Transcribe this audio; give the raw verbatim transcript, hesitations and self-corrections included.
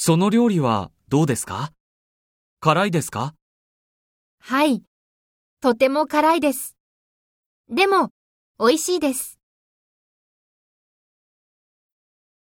その料理はどうですか？辛いですか？ はい。とても辛いです。でも、美味しいです。